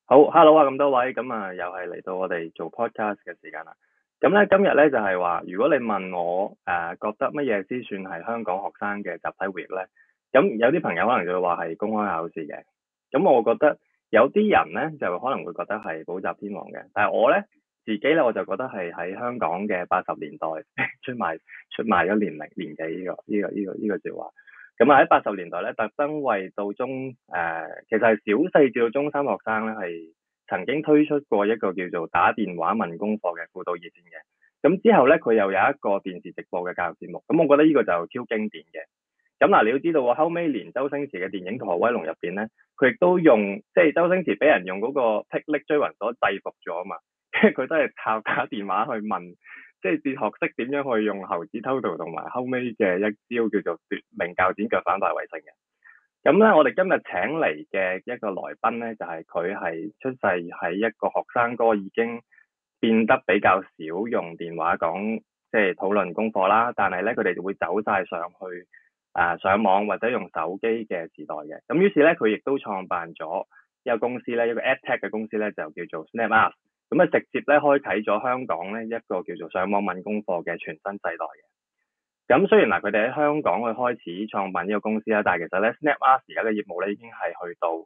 好，Hello 啊，咁多位，咁啊，又係嚟到我哋做 podcast 嘅時間啦。咁咧，今日咧就係話，如果你問我覺得乜嘢先算係香港學生嘅集體回憶咧，咁有啲朋友可能就會話係公開考試嘅。咁我覺得有啲人咧就可能會覺得係補習天王嘅，但係我咧自己咧我就覺得係喺香港嘅80年代出賣咗年紀呢個說話。咁啊喺80年代咧，特登為到其實係小四至到中三學生咧，係曾經推出過一個叫做打電話問功課嘅輔導熱線嘅。咁之後咧，佢又有一個電視直播嘅教育節目。咁我覺得呢個就超經典嘅。咁嗱，你要知道喎，後尾連周星馳嘅電影《逃學威龍》入邊咧，佢亦都用即係周星馳俾人用嗰個霹靂追魂鎖制服咗啊嘛，即係佢都係靠打電話去問。即係學識點樣去用猴子偷桃同埋後尾嘅一招叫做奪命鉸剪腳反敗為勝嘅。咁咧，我哋今日請嚟嘅一個來賓咧，就係佢係出世喺一個學生哥，已經變得比較少用電話講即係討論功課啦。但係咧，佢哋就會走晒上去上網或者用手機嘅時代嘅。咁於是咧，佢亦都創辦咗一個公司咧，一個 EdTech 嘅公司咧，就叫做 SnapUs。咁啊，直接咧開啟咗香港咧一個叫做上網問功課嘅全新世代嘅。咁雖然嗱，佢哋喺香港去開始創辦呢個公司啦，但係其實咧 SnapUs 而家嘅業務咧已經係去到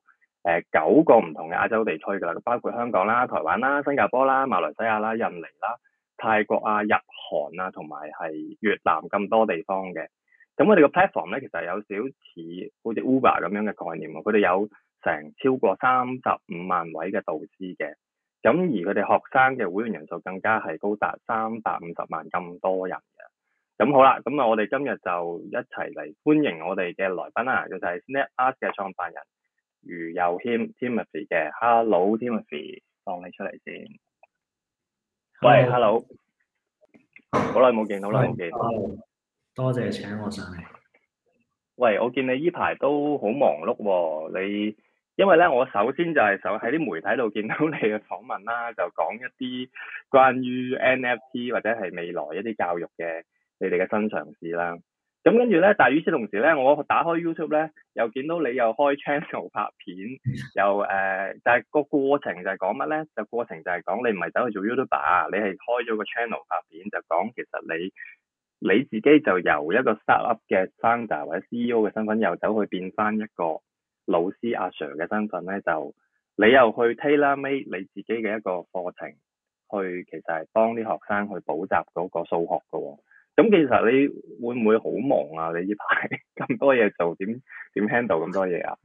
9個唔同嘅亞洲地區㗎啦，包括香港啦、台灣啦、新加坡啦、馬來西亞啦、印尼啦、泰國啊、日韓啊同埋係越南咁多地方嘅。咁我哋個 platform 咧其實有少似好似 Uber 咁樣嘅概念喎，佢哋有成超過35萬位嘅導師嘅。咁而佢哋學生嘅會員人數更加係高達350萬咁多人嘅。咁好啦，咁啊我哋今日就一齊嚟歡迎我哋嘅來賓啦，就係 SnapUs 嘅創辦人余佑謙 Timothy 嘅。Hello Timothy， 放你出嚟先。喂 ，Hello， 好耐冇見。 多謝請我上嚟。 喂，我見你依排都好忙碌喎，因為咧，我首先就係喺啲媒體度見到你嘅訪問啦，就講一啲關於 NFT 或者係未來一啲教育嘅你哋嘅新嘗試啦。咁跟住咧，但係與此同時咧，我打開 YouTube 咧，又見到你又開 channel 拍片，又但係個過程就係講乜咧？就過程就係講你唔係走去做 YouTuber，你係開咗個 channel 拍片，就講其實你自己就由一個 startup 嘅 founder 或者 CEO 嘅身份，又走去變翻一個老師阿 Sir 嘅身份咧，就你又去 tailor-made 你自己嘅一個課程，去其實係幫啲學生去補習嗰個數學嘅喎。咁其實你會唔會好忙啊？你呢排咁多嘢做，點 handle 咁多嘢啊？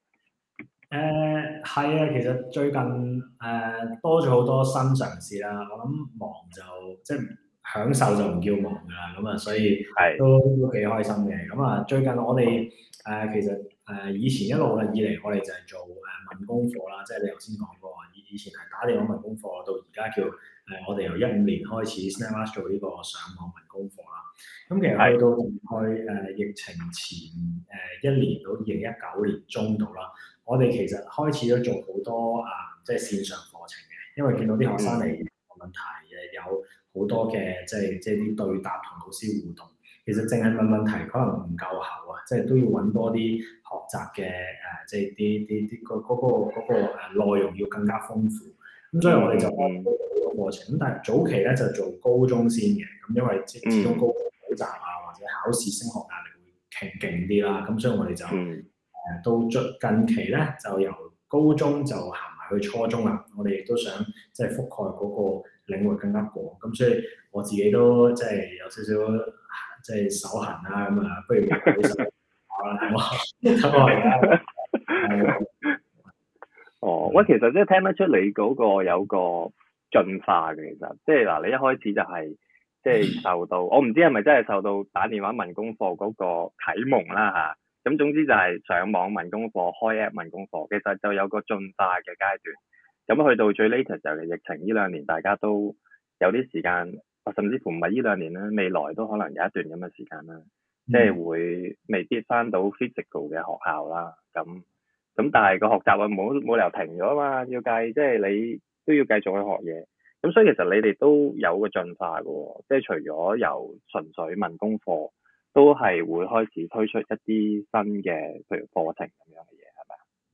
係啊，其實最近多咗好多新嘗試啦。我諗忙就即係享受就唔叫忙㗎啦。咁啊，所以都幾開心嘅。咁啊，最近我哋其實以前一路以嚟，我哋就係做問功課啦。即係你頭先講過，以前係打電話問功課，到而家叫我哋由15年開始 SnapUs 做呢個上網問功課啦。咁其實去到大概疫情前1年到2019年中度啦。我哋其實開始咗做好多即係線上課程嘅，因為見到啲學生嚟問題，有好多嘅即係啲對答同老師互動。其實淨係問題可能唔夠厚啊，即係都要揾多啲學習嘅即係啲嗰個內容要更加豐富。咁所以我哋就開咗個課程。咁但係早期咧就做高中先嘅，咁因為始終高中補習啊或者考試升學壓力會勁啲啦，咁所以我哋就到近期咧就由高中就行埋去初中啦。我哋亦都想即係覆蓋嗰個領域更加廣，咁所以我自己都即係有少少即係手痕啦。咁啊，不如舉手考啦，咁我而家哦，喂，其實即係聽得出你嗰個有個進化嘅，其實即係嗱，你一開始就係即係受到我唔知係咪真係受到打電話問功課嗰個啟蒙啦嚇。咁總之就係上網問功課，開 app 問功課，其實就有個進化嘅階段。咁去到最 latest 就係疫情呢2年，大家都有啲時間，甚至乎唔係呢2年啦，未來都可能有一段咁嘅時間啦，即係會未必返到 physical 嘅學校啦。咁但係個學習啊冇理由停咗啊嘛，要計即係你都要繼續去學嘢。咁所以其實你哋都有個進化嘅喎，即係除咗由純粹問功課，都係會開始推出一啲新嘅，譬如課程咁樣嘅嘢，係咪啊？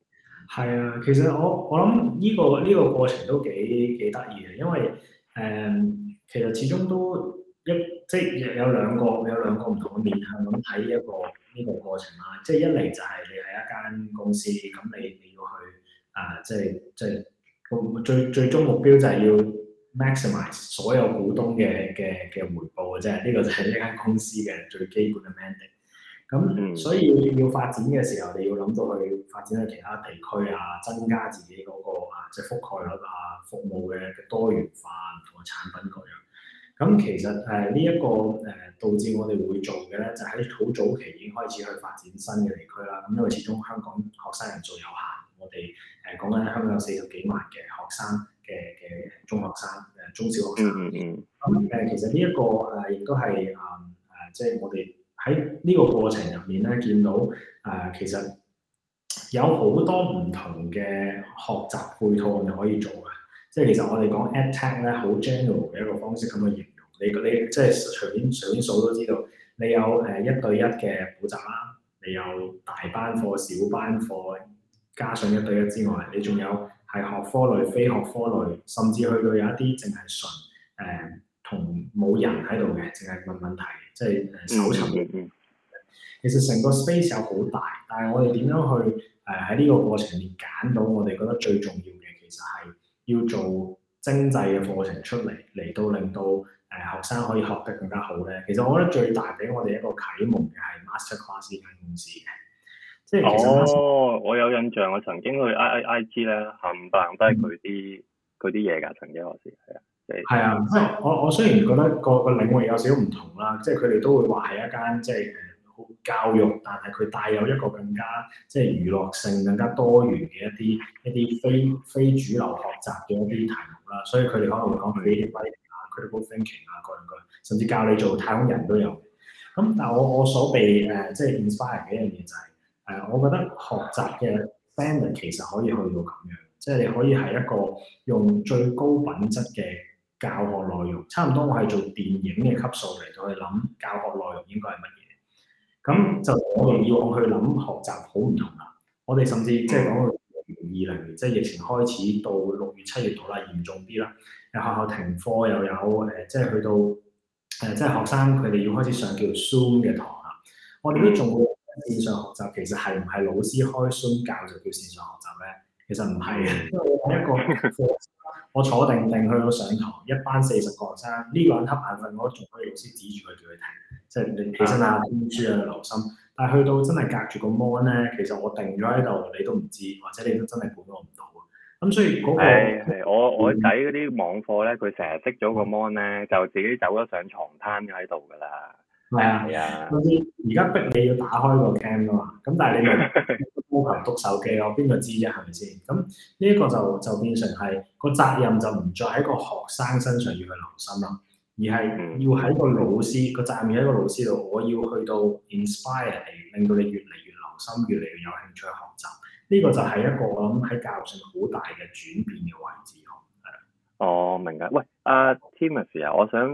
係啊，其實我諗呢個過程都幾得意嘅，因為其實始終都即係有兩個唔同嘅面向咁睇呢個過程啦。即係一嚟就係你係一間公司，咁你要去即係個最終目標就係要 maximize 所有股東嘅回報嘅啫。呢個就係呢間公司嘅最基本嘅 mandate。咁所以要發展嘅時候，你要諗到去發展去其他地區啊，增加自己嗰個即係覆蓋率啊，服務嘅多元化同埋產品各樣。咁其實呢一個導致我哋會做嘅咧，就喺好早期已經開始去發展新嘅地區啦。咁因為始終香港學生人數有限，我哋講緊香港有40幾萬嘅學生嘅中學生中小學生。咁其實呢一個亦都係即係我哋喺呢個過程入面咧，見到其實有好多唔同嘅學習配套我哋可以做嘅。即係其實我哋講 EdTech 咧，好 general 嘅一個方式咁去形容。你即係隨便數都知道，你有1對1嘅補習啦，你有大班課、小班課，加上1對1之外，你仲有係學科類、非學科類，甚至去到有一啲淨係純同冇人喺度嘅，淨係問問題，即係搜尋。其實成個 space 有好大，但係我哋點樣去喺呢個過程入面揀到我哋覺得最重要嘅，其實係要做精製嘅課程出嚟到令到學生可以學得更加好咧。其實我覺得最大俾我哋一個啟蒙嘅係 Masterclass 呢間公司嘅，即係其實我有印象，我曾經去 IG 咧冚唪唥都係佢啲嘢㗎，曾經我試係啊。 係啊，即係我雖然覺得個領域有少少唔同啦，即係佢哋都會話係一間即係教育，但係佢帶有一個更加即係娛樂性、更加多元嘅一啲非主流學習嘅一啲題目啦。所以佢哋可能會講 creative writing 啊、critical thinking 啊各樣各樣，甚至教你做太空人都有。咁但係我所被即係 inspire 嘅一樣嘢就係我覺得學習嘅 standard 其實可以去到咁樣，即係你可以係一個用最高品質嘅教學內容，差唔多我係做電影嘅級數嚟到去諗教學內容應該係乜嘢。咁就我哋要去諗學習好唔同啦。我哋甚至即係講到2020年，即係疫情開始到6月7月度啦，嚴重啲啦，有學校停課，又有即係去到即係學生佢哋要開始上叫 Zoom 嘅堂啦。我哋都仲會線上學習，其實係唔係老師開 Zoom 教就叫線上學習咧？其實唔係嘅，因為我一個課我坐定定去到上堂，一班40個學生，呢個人瞌眼瞓，我仲可以老師指住佢叫佢停，即係你起身啊、聽書啊、留心。但係去到真係隔住個 mon 咧，其實我定咗喺度，你都唔知，或者你都真係管我唔到。咁所以嗰個係我仔嗰啲網課咧，佢成日熄咗個 mon 咧，就自己走咗上床攤咗喺度㗎啦。係啊， 總之而家逼你要打開個 cam 㗎嘛，咁但係你咪要求篤手機咯，邊個知啫？係咪先？咁呢一個就變成係個責任就唔再喺個學生身上要去留心啦，而係要喺個老師個責任要喺個老師度，我要去到 inspire 你，令到你越嚟越留心，越嚟越有興趣學習。呢個就係一個我諗喺教育上好大嘅轉變嘅位置咯。 哦，明㗎。喂，Timothy 啊，我想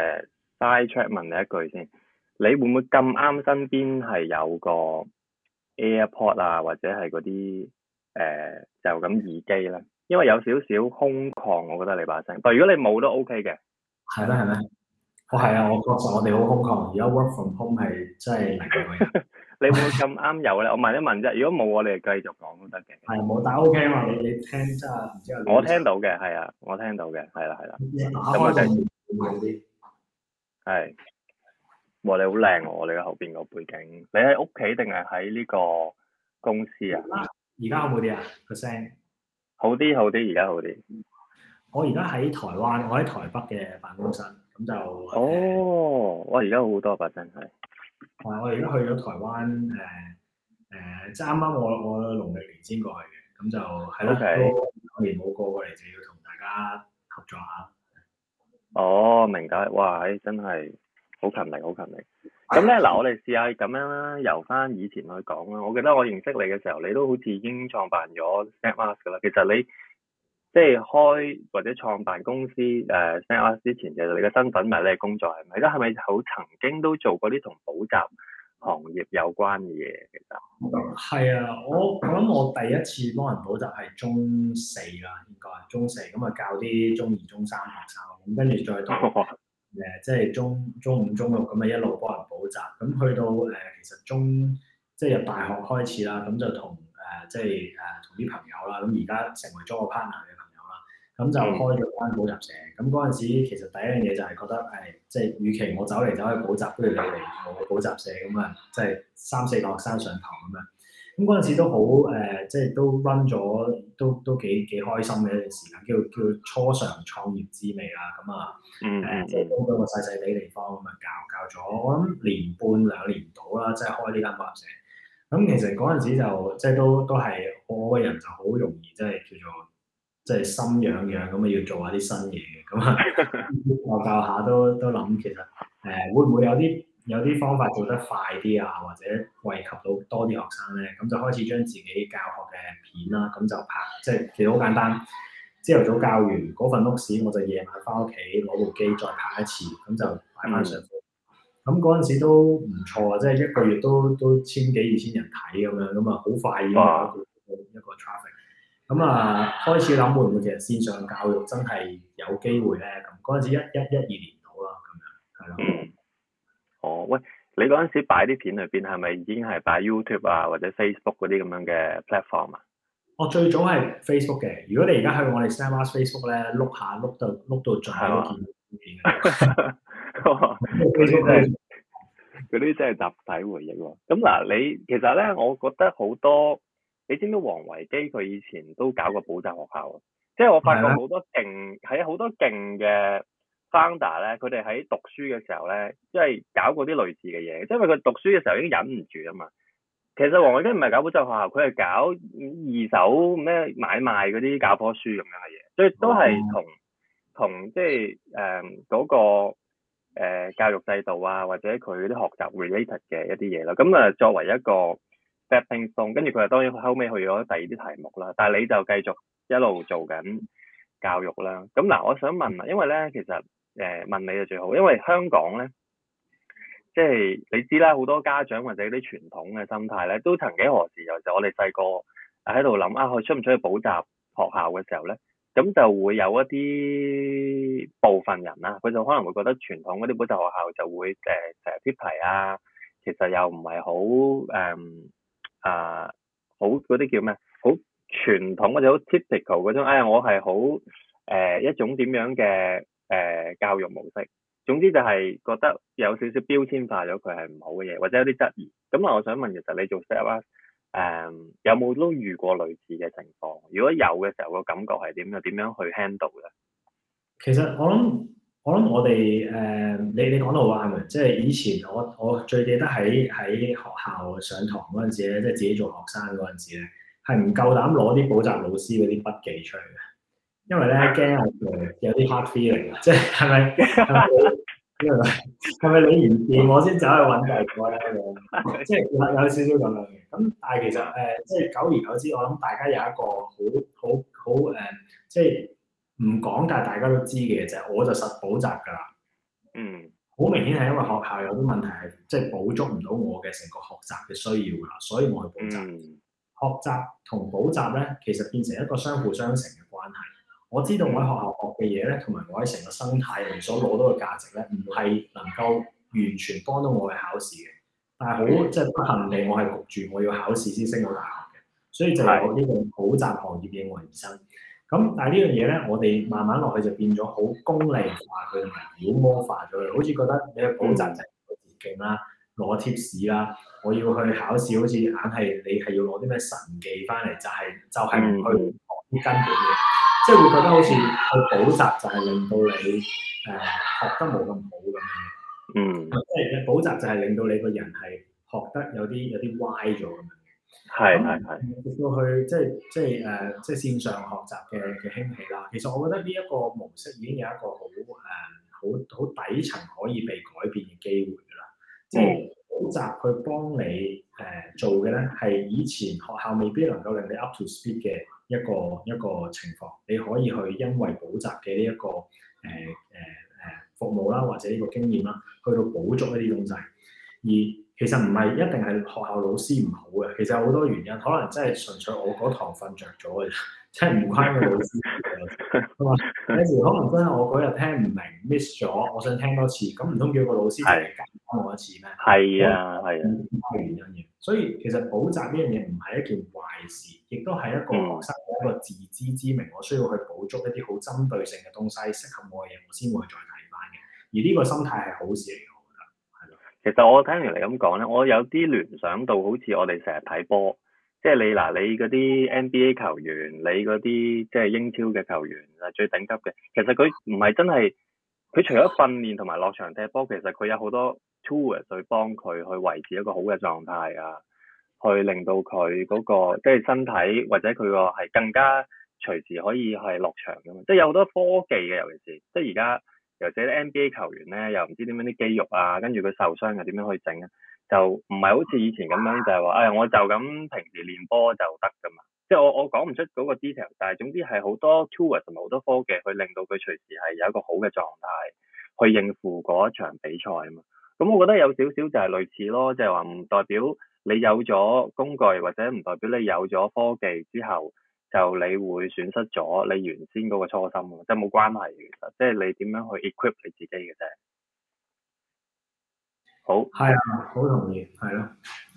side track 問你一句先。你會唔會咁啱身邊係有個 AirPod 啊，或者係嗰啲就咁耳機咧？因為有少少空曠，我覺得你把聲。但如果你冇都 OK 嘅。 係咩？係咩？係啊，我確實我哋好空曠。而家 work from home 係真係零嘅。 你會唔會咁啱有咧？我問一問啫。如果冇，我哋繼續講都得嘅。 係冇，但 OK 嘛？你聽真係唔知啊？ 我聽到嘅，係啊，我聽到嘅，係啦。 咁我就好啲。 係。哇！你好靚喎，你嘅後邊個背景。你喺屋企定係喺呢個公司啊？ 而家好冇啲啊？個聲好啲，而家好啲。 我而家喺台灣，我喺台北嘅辦公室，咁就我而家好多把真係。 我而家去咗台灣即係啱啱我農曆年先過去嘅，咁就係咯，都2年冇過嚟，就要同大家合作下。 明解。哇！真係〜好勤力。咁咧嗱，我哋試下咁樣啦，由翻以前去講啦。我記得我認識你嘅時候，你都好似已經創辦咗 SnapUs 噶啦。其實你即係開或者創辦公司SnapUs 之前，其實你嘅身份咪你嘅工作係咪？係咪好曾經都做過啲同補習行業有關嘅嘢，其實係啊，我諗我第一次幫人補習係中四啦，應該係中四咁啊，教啲中二、中三學生，咁跟住再到即係中五、中六咁啊，一路幫人補習，咁去到其實即係由大學開始啦，咁就同即係同啲朋友啦，咁而家成為咗個 partner 嘅朋友啦，咁就開咗間補習社。咁嗰陣時其實第一樣嘢就係覺得即係與其我走嚟走去補習，不如你嚟我補習社咁啊，即係3-4個學生上堂咁樣。咁嗰陣時都好即係都 run 咗，都幾開心嘅一段時間，叫初嘗創業滋味啦。咁啊即係都個細細地地方咁啊，教咗我諗年半2年到啦，即係開呢間補習社。咁其實嗰陣時就即係都係我個人就好容易即係叫做即係心癢癢咁啊，要做下啲新嘢嘅。咁啊教下都諗其實會唔會有啲方法做得快啲啊，或者惠及到多啲學生咧？咁就開始將自己教學嘅片啦，咁就拍，即係其實好簡單。朝頭早教完嗰份 notes，我就夜晚翻屋企攞部機再拍一次，咁就擺翻上課。咁嗰陣時都唔錯啊，即係一個月都1000幾2000人睇咁樣，咁啊好快已經有一個 traffic。咁啊開始諗會唔會其實線上教育真係有機會咧？咁嗰陣時12年到啦，咁樣係咯。 哦，喂，你嗰陣時擺啲片裏邊係咪已經係擺 YouTube 啊或者 Facebook 嗰啲咁樣嘅 platform 啊？我最早係 Facebook 嘅，如果你而家去我哋 StemArts Facebook 咧，碌到盡都見到嗰啲真係集體回憶喎。咁嗱，你其實咧，我覺得好多，你知唔知黃維基佢以前都搞過補習學校啊？即係我發覺好多勁，係好多勁嘅 founder 咧，佢哋喺讀書嘅時候咧，即係搞過啲類似嘅嘢，即係因為佢讀書嘅時候已經忍唔住啊嘛。其實黃維基唔係搞補習學校，佢係搞二手咩買賣嗰啲教科書咁樣嘅嘢，所以都係同即係嗰個教育制度啊，或者佢啲學習 related 嘅一啲嘢啦。咁啊，作為一個 stepping stone，跟住佢當然後尾去咗第二啲題目啦。但係你就繼續一路做緊教育啦。咁嗱，我想問啊，因為咧其實問你就最好，因為香港咧。即係你知啦，好多家長或者啲傳統嘅心態咧，都曾幾何時有時我哋細個喺度諗啊，佢出唔出去補習學校嘅時候咧，咁就會有一啲部分人啦，佢就可能會覺得傳統嗰啲補習學校就會成日貼題啊，其實又唔係好嗰啲叫咩？好傳統或者好 typical 嗰種，我係好一種點樣嘅教育模式。總之就係覺得有少少標籤化咗佢係唔好嘅嘢，或者有啲質疑。咁啊，我想問，其實你做 StemArts 有冇都遇過類似嘅情況？如果有嘅時候，個感覺係點？又點樣去 handle 咧？ 其實我諗我哋你講到話係咪？即係以前我最記得喺學校上堂嗰陣時咧，即係自己做學生嗰陣時咧，係唔夠膽攞啲補習老師嗰啲筆記出嚟嘅。因為咧驚有啲 hard feeling 啊，即係咪你唔掂我先走去揾第二個咧？即係有少少咁樣嘅。咁但係其實即係久而久之，我諗大家有一個好即係唔講，但係大家都知嘅就係，我就實補習㗎啦。好明顯係因為學校有啲問題係即係補足唔到我嘅成個學習嘅需要㗎啦，所以我去補習。學習同補習咧，其實變成一個相輔相成嘅關係。我知道我喺學校學嘅嘢咧，同埋我喺成個生態裏所攞到嘅價值咧，唔係能夠完全幫到我去考試嘅。但係好即係不幸地，我係焗住我要考試先升到大學嘅，所以就有呢個補習行業應運而生。咁但係呢樣嘢咧，我哋慢慢落去就變咗好功利化佢，同埋妖魔化咗佢，好似覺得你去補習就係個捷徑啦，攞 tips 啦，我要去考試，好似硬係你係要攞啲咩神技翻嚟，就係唔去學啲根本嘅。即係會覺得好似去補習就係令到你學得冇咁好咁樣。即係補習就係令到你個人係學得有啲歪咗咁樣嘅。直到去即係線上學習嘅興起啦。其實我覺得呢一個模式已經有一個好底層可以被改變嘅機會㗎啦。即係補習去幫你做嘅咧，係以前學校未必能夠令你 up to speed 嘅。一個情況，你可以去因為補習嘅呢一個服務啦，或者呢個經驗啦，去到補足一啲東西。而其實唔係一定係學校老師唔好嘅，其實有好多原因，可能真係純粹我嗰堂瞓着咗嘅，真係唔關個老師事嘅。有時可能真係我嗰日聽唔明 miss 咗，我想聽多次，咁唔通叫個老師淨係教翻我一次咩？ 係啊，係啊， 原因嘅。所以其實補習呢樣嘢唔係一件壞事，亦都係一個學生嘅一個自知之明，我需要去補足一啲好針對性嘅東西，適合我嘅嘢，我先會再睇翻嘅。而呢個心態係好事嚟嘅，我覺得係咯。 其實我聽完你咁講咧，我有啲聯想到好似我哋成日睇波，即係你嗱，你嗰啲 NBA 球員，你嗰啲即係英超嘅球員係最頂級嘅，其實佢唔係真係，佢除咗訓練同埋落場踢波，其實佢有好多 tools 去幫佢去維持一個好嘅狀態啊，去令到佢嗰個即係身體或者佢個係更加隨時可以係落場㗎嘛，即係有好多科技嘅，尤其是即係而家。尤其是啲 NBA 球員咧，又唔知點樣啲肌肉啊，跟住佢受傷又點樣去整啊？就唔係好似以前咁樣，就係話，我就咁平時練波就得㗎嘛。即係我講唔出嗰個 detail，但係總之係好多 tools 同埋好多科技去令到佢隨時係有一個好嘅狀態去應付嗰一場比賽啊嘛。咁我覺得有少少就係類似咯，就係話唔代表你有咗工具或者唔代表你有咗科技之後。就你會損失咗你原先嗰個初心喎，即係冇關係嘅，其實即係你點樣去 equip 你自己嘅啫。好， 係啊，好同意，係咯。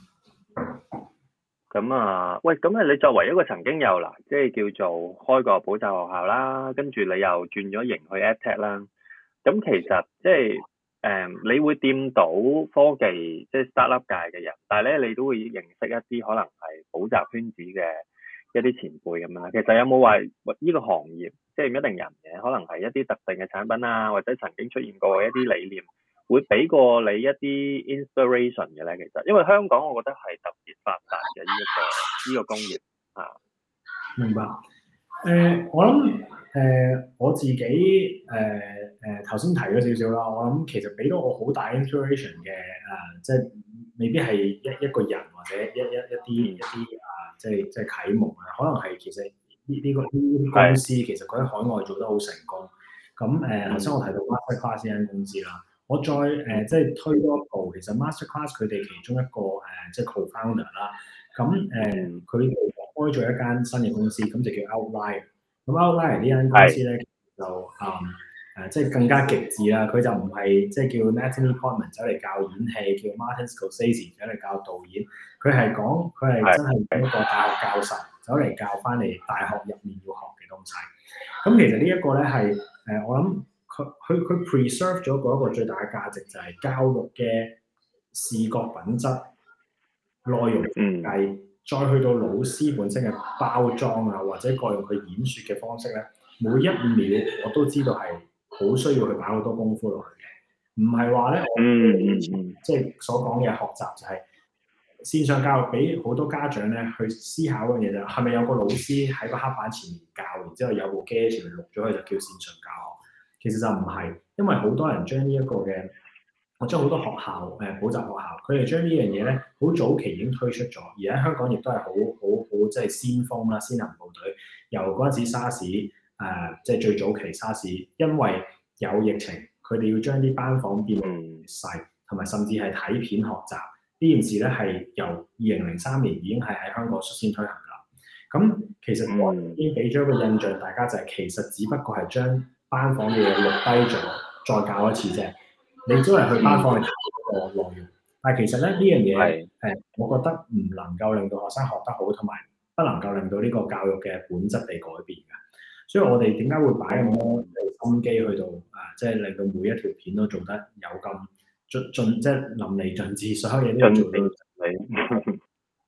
咁啊，喂，咁啊，你作為一個曾經有嗱，即係叫做開個補習學校啦，跟住你又轉咗型去 EdTech 啦，咁其實即係你會掂到科技即係 startup 界嘅人，但係咧你都會認識一啲可能係補習圈子嘅。一啲前輩咁樣，其實有冇話呢個行業即係唔一定人嘅，可能係一啲特定嘅產品啊，或者曾經出現過一啲理念，會俾過你一啲 inspiration 嘅咧？其實，因為香港我覺得係特別發達嘅呢個工業啊。 明白。我諗我自己頭先提咗少少啦，我諗其實俾到我好大 inspiration 嘅即係未必係一個人或者一啲即係啟蒙啊，可能係其實呢啲公司其實佢喺海外做得好成功。咁頭先我提到 Masterclass 呢間公司啦，我再即係推多一步，其實 Masterclass 佢哋其中一個即係 co-founder 啦，咁佢哋開咗一間新嘅公司，咁就叫 Outlier。咁 Outlier 呢間公司咧就即係更加極致啦，佢就唔係即係叫 Natalie Portman 走嚟教演戲，叫 Martin Scorsese 走嚟教導演，佢係真係一個大學教授走嚟教翻嚟大學入面要學嘅東西。咁其實呢一個咧係我諗佢 preserve 咗嗰一個最大嘅價值就係教育嘅視覺品質、內容設計，再去到老師本身嘅包裝啊，或者各樣佢演説嘅方式咧，每一秒我都知道係好需要去擺好多功夫落去嘅，唔係話咧即係所講嘅學習就係線上教育，俾好多家長咧去思考嘅嘢就係咪有個老師喺個黑板前面教，然之後有部機喺前面錄咗佢就叫線上教學，其實就唔係，因為好多人將呢一個嘅。我將好多學校補習學校，佢哋將呢樣嘢咧好早期已經推出咗，而喺香港亦都係好即係先鋒啦，先行部隊。由嗰陣時沙士即係最早期沙士，因為有疫情，佢哋要將啲班房變細，同埋甚至係睇片學習呢件事咧，係由2003年已經係喺香港率先推行㗎啦。咁其實我已經俾咗一個印象，大家就係其實只不過係將班房嘅嘢錄低咗，再教一次啫。你都係去班房去睇嗰個內容，但係其實咧呢樣嘢我覺得唔能夠令到學生學得好，同埋不能夠令到呢個教育嘅本質被改變嘅。所以我哋點解會擺咁多心機去到即係令到每一條片都做得有咁盡即係淋漓盡致，所有嘢都要做到你。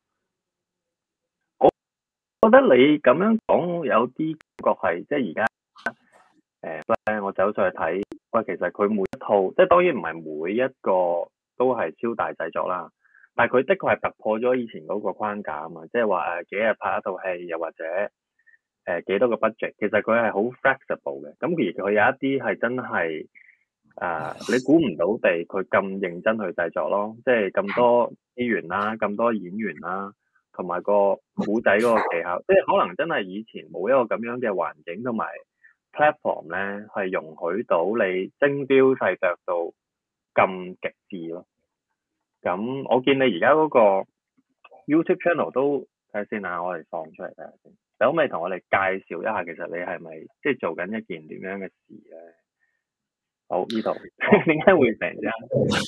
我覺得你咁樣講有啲感覺係即係而家我走上去睇。喂，其實佢每一套，即係當然唔係每一個都係超大製作啦，但係佢的確係突破咗以前嗰個框架啊嘛，即係話幾日拍一套戲，又或者幾多個 budget，其實佢係好 flexible 嘅。咁而佢有一啲係真係你估唔到地佢咁認真去製作咯，即係咁多資源啦，咁多演員啦，同埋個古仔嗰個技巧，即係可能真係以前冇一個咁樣嘅環境同埋platform 咧，係容許到你精雕細琢到咁極致咯。 咁我見你而家嗰個 YouTube channel 都睇下先啊，我哋放出嚟睇下先。你可唔可以同我哋介紹一下，其實你係咪即係做緊一件點樣嘅事咧？好，呢度點解會成啫？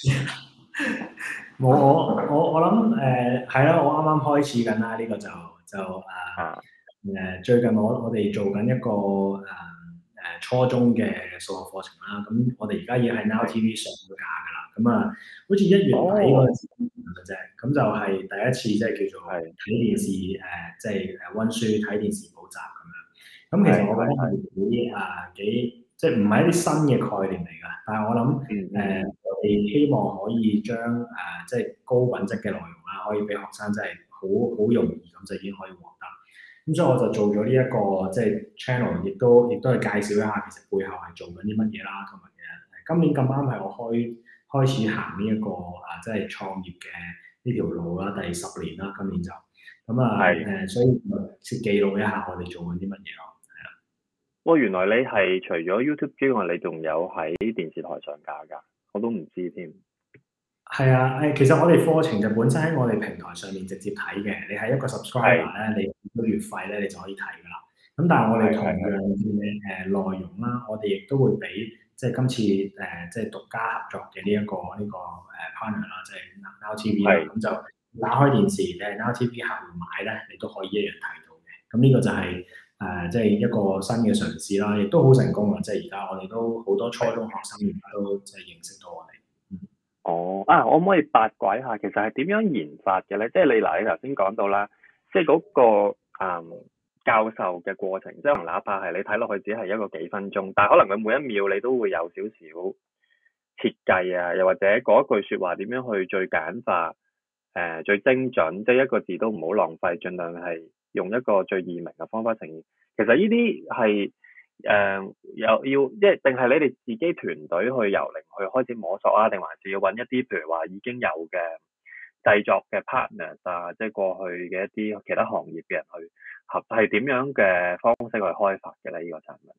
我諗係啦，我啱啱開始緊啦，呢、個就啊， 最近我哋做緊一個初中嘅數學課程啦，咁我哋而家已經喺 Now TV 上咗架㗎啦，咁啊好似1月底嗰陣時嘅啫，咁就係第一次即係叫做睇電視即係温書睇電視補習咁樣。咁其實我覺得係幾即係唔係一啲新嘅概念嚟㗎，但係我諗我哋希望可以將即係高品質嘅內容啦，可以俾學生真係好容易咁就已經可以獲得。咁所以我就做咗呢一個即係 channel，亦都係介紹一下其實背後係做緊啲乜嘢啦，同埋嘅今年咁啱係我開始行呢一個即係創業嘅呢條路啦，第10年啦，今年就咁所以先記錄一下我哋做緊啲乜嘢咯。 哇！原來你係除咗 YouTube 之外，你仲有喺電視台上架㗎？我都唔知添。 係啊，其實我哋課程就本身喺我哋平台上面直接睇嘅，你係一個 subscriber 咧，你個月費咧，你就可以睇㗎啦。咁但係我哋同樣嘅內容啦，我哋亦都會俾即係今次即係獨家合作嘅呢個partner 啦，即係 Now TV 啦，咁就打開電視，你係 Now TV 客戶買咧，你都可以一樣睇到嘅。咁呢個就係即係一個新嘅嘗試啦，亦都好成功啊！即係而家我哋都好多初中學生而家都即係認識到我哋。 哦，我可唔可以八卦一下，其實係點樣研發嘅咧？即係你頭先講到啦，即係嗰個教授嘅過程，即係哪怕係你睇落去只係一個幾分鐘，但係可能佢每一秒你都會有少少設計啊，又或者嗰一句説話點樣去最簡化、最精準，即係一個字都唔好浪費，盡量係用一個最易明嘅方法呈現。其實呢啲係又要即係定係你哋自己團隊去由零去開始摸索啊，定還是要揾一啲譬如話已經有嘅製作嘅 partners 啊，即係過去嘅一啲其他行業嘅人去合，係點樣嘅方式去開發嘅咧？呢個產品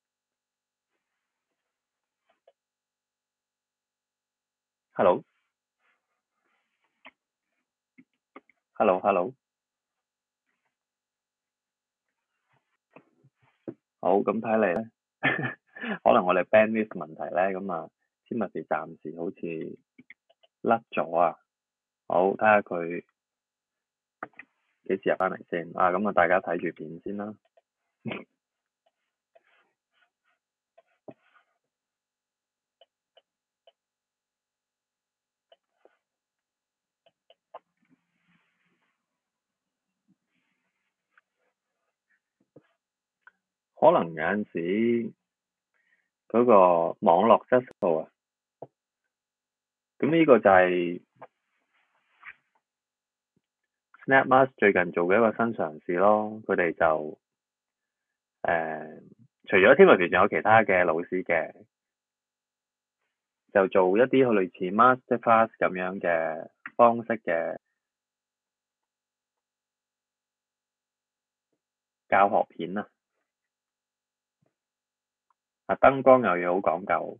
，hello，hello，hello，好，咁睇嚟咧，可能我哋 bandwidth 問題咧，咁啊，Timothy暫時好似甩咗啊，好，睇下佢幾時入翻嚟先啊，咁啊，大家睇住片先啦。可能有陣時嗰個網絡質素啊，咁呢個就係 SnapMask 最近做嘅一個新嘗試咯。佢哋就除咗 Timothy 仲有其他嘅老師嘅，就做一啲類似 Masterclass 咁樣嘅方式嘅教學片啊。燈光又要好講究，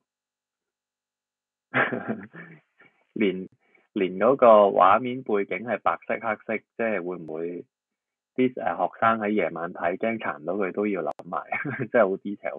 連嗰個畫面背景係白色黑色，即係會唔會啲學生喺夜晚睇驚殘到佢都要諗埋，真係好 detail。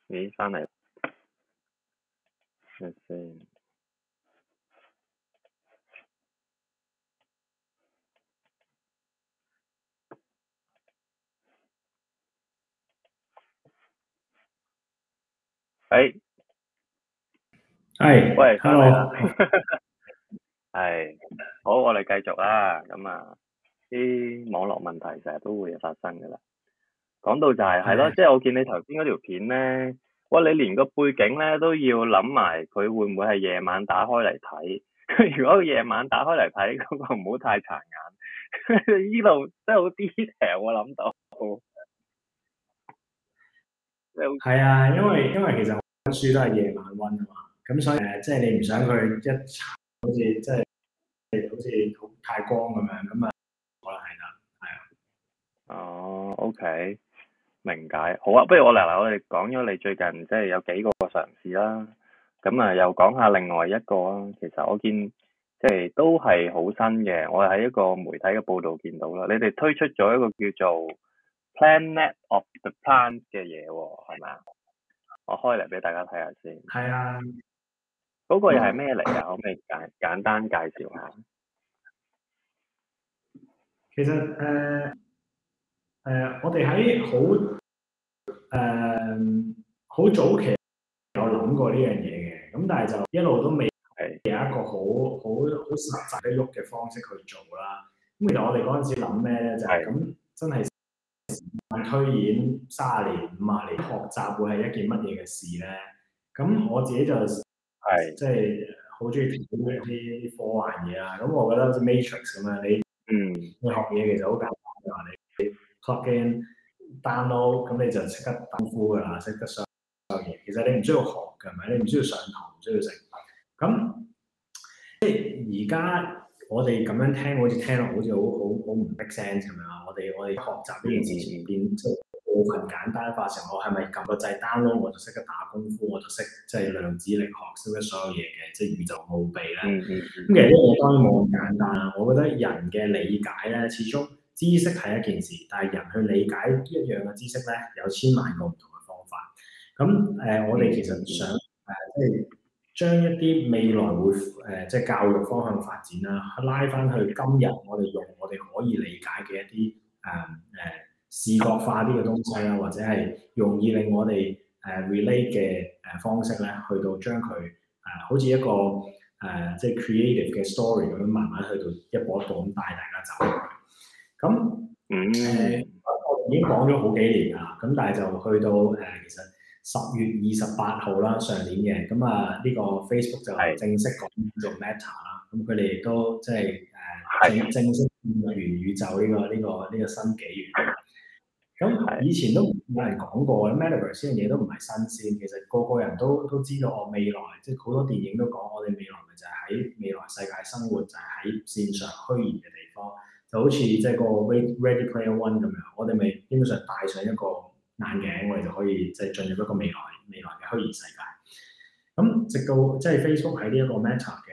咦，翻嚟先。誒，喂，翻嚟啦。係，好，我哋繼續啦。咁啊，啲網絡問題成日都會發生㗎啦。講到就係咯，即係我見你頭先嗰條片咧，哇！你連個背景咧都要諗埋，佢會唔會係夜晚打開嚟睇？如果夜晚打開嚟睇，嗰個唔好太殘眼。呢度真係好 detail，我諗到。 係啊，因為其實溫書都係夜晚溫啊嘛，咁所以即係你唔想佢一查好似即係好似太光咁樣，咁啊可能係啦，係啊。 哦，OK，明解。好啊，不如我哋講咗你最近即係有幾個嘗試啦，咁啊又講下另外一個啊。其實我見即係都係好新嘅，我係喺一個媒體嘅報道見到啦。你哋推出咗一個叫做 Planet of the Plants 嘅嘢喎，係咪啊？我開嚟俾大家睇下先。 係啊。 嗰個又係咩嚟㗎？可唔可以簡單介紹下？ 其實我哋喺好早期有諗過呢樣嘢嘅，咁但係就一路都未有一個好實際得喐嘅方式去做啦。咁其實我哋嗰陣時諗咩咧，就係咁真係推演30年、50年，學習會係一件乜嘢嘅事咧？咁我自己就即係好中意睇啲科幻嘢啦。咁我覺得好似 Matrix 咁樣，你學嘢其實好簡單嘅話，你 plug in download，咁你就識得打功夫㗎啦，識得所有嘢。其實你唔需要學㗎，係咪？你唔需要上堂，唔需要食。咁即係而家我哋咁樣聽，好似聽落好似好唔 make sense 咁樣。我哋學習呢件事情變即係部分簡單化成我係咪撳個掣 download 我就識得打功夫，我就識即係量子力學，識得所有嘢嘅，即係宇宙奧秘咧。咁其實呢嘢當然冇咁簡單啦。我覺得人嘅理解咧，始終知識係一件事，但係人去理解一樣嘅知識咧，有千萬個唔同嘅方法。咁我哋其實想即係將一啲未來會即係教育方向發展啦，拉翻去今日我哋用我哋可以理解嘅一啲視覺化啲嘅東西啦，或者係容易令我哋relate 嘅方式咧，去到將佢好似一個即係 creative 嘅 story 咁樣，慢慢去到一步一步咁帶大家走落去。咁我已經講咗好幾年啦，咁但係就去到其實10月28號啦，上年嘅，咁啊呢個 Facebook 就正式講做 Meta 啦，咁佢哋亦都即係正式進入元宇宙呢個新紀元。咁以前都有人講過 Metaverse 呢樣嘢都唔係新鮮，其實個個人都知道我未來，即係好多電影都講我哋未來咪就係喺未來世界生活，就係喺線上虛擬嘅地方，就好似即係個 Ready Player One 咁樣，我哋咪基本上戴上一個眼鏡，我哋就可以即係進入一個未來嘅虛擬世界。咁直到即係 Facebook 喺呢一個 Meta 嘅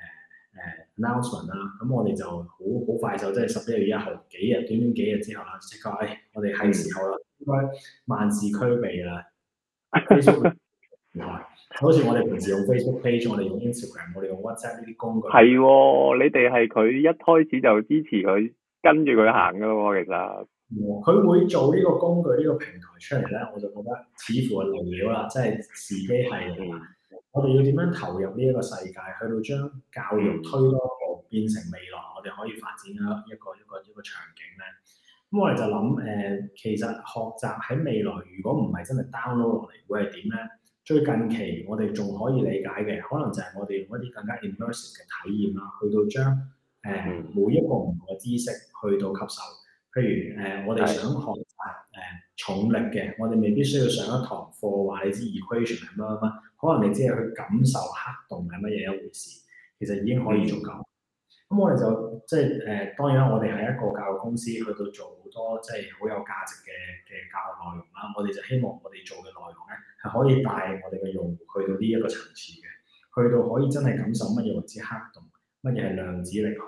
announcement 啦，咁我哋就好快就即係11月1號短短幾日之後啦，即刻我哋係時候啦，應該萬事俱備啦。Facebook 平台好似我哋平時用 Facebook page，我哋用 Instagram， 我哋用 WhatsApp 呢啲工具。係喎， 你哋係佢一開始就支持佢，跟住佢行噶咯喎，其實。 佢會做呢個工具呢個平台出嚟咧，我就覺得似乎係嚟料啦，即係時機係。我哋要點樣投入呢一個世界，去到將教育推多一步，變成未來我哋可以發展一個場景咧？咁我哋就諗其實學習喺未來，如果唔係真係 download 落嚟，會係點咧？最近期我哋仲可以理解嘅，可能就係我哋用一啲更加 immersive 嘅體驗啦，去到將每一個唔同嘅知識去到吸收。譬如我哋想學習重力嘅，我哋未必需要上一堂課話你知 equation 係乜，可能你只係去感受黑洞係乜嘢一回事，其實已經可以做夠。咁我哋就即係當然啦，我哋係一個教育公司，去到做好多即係好有價值嘅教育內容啦。我哋就希望我哋做嘅內容咧係可以帶我哋嘅用戶去到呢一個層次嘅，去到可以真係感受乜嘢為之黑洞，乜嘢係量子力學。